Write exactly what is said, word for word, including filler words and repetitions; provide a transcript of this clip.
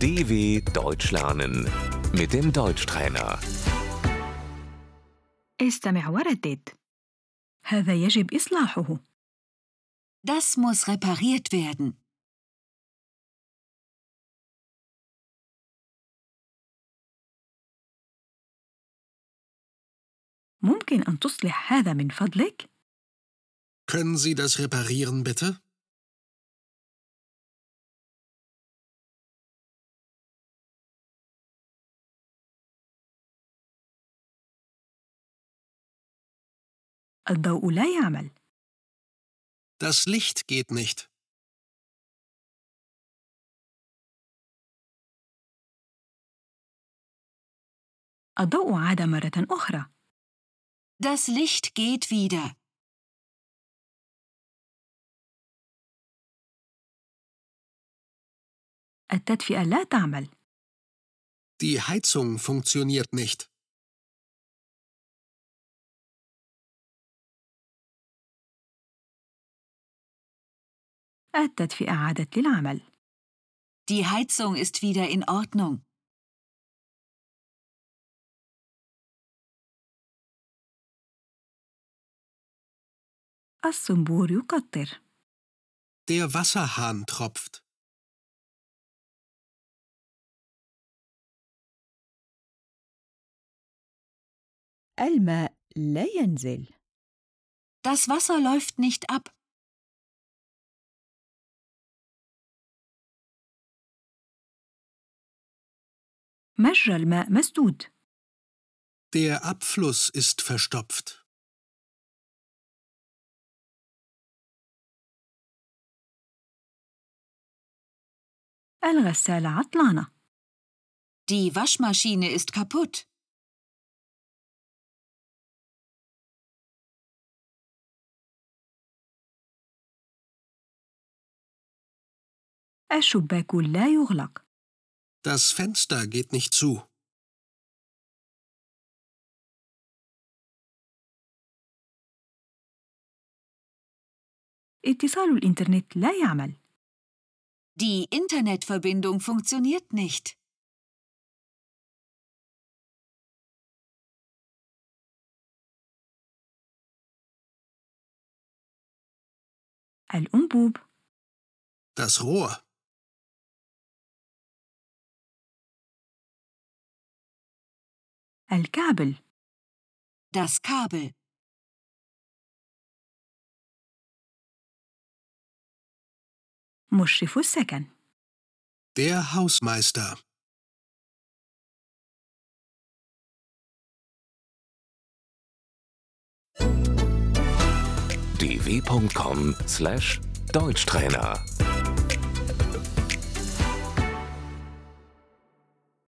D W Deutsch lernen mit dem Deutschtrainer. استمع وردد. هذا يجب إصلاحه. Das muss repariert werden. ممكن أن تصلح هذا من فضلك؟ Können Sie das reparieren, bitte? الضوء لا يعمل. Das Licht geht nicht. الضوء عاد مرة أخرى. Das Licht geht wieder. التدفئة لا تعمل. Die Heizung funktioniert nicht. التدفئة عادت للعمل. Die Heizung ist wieder in Ordnung. الصنبور يقطر. Der Wasserhahn tropft. الماء لا ينزل. Das Wasser läuft nicht ab. مجرى الماء مسدود. Der Abfluss ist verstopft. الغسالة عطلانة. Die Waschmaschine ist kaputt. الشباك لا يغلق. Das Fenster geht nicht zu. اتصال الإنترنت لا يعمل. Die Internetverbindung funktioniert nicht. الأنبوب. Das Rohr. الكابل. Das Kabel. مشرف السكن. Der Hausmeister. d w punkt com slash Deutschtrainer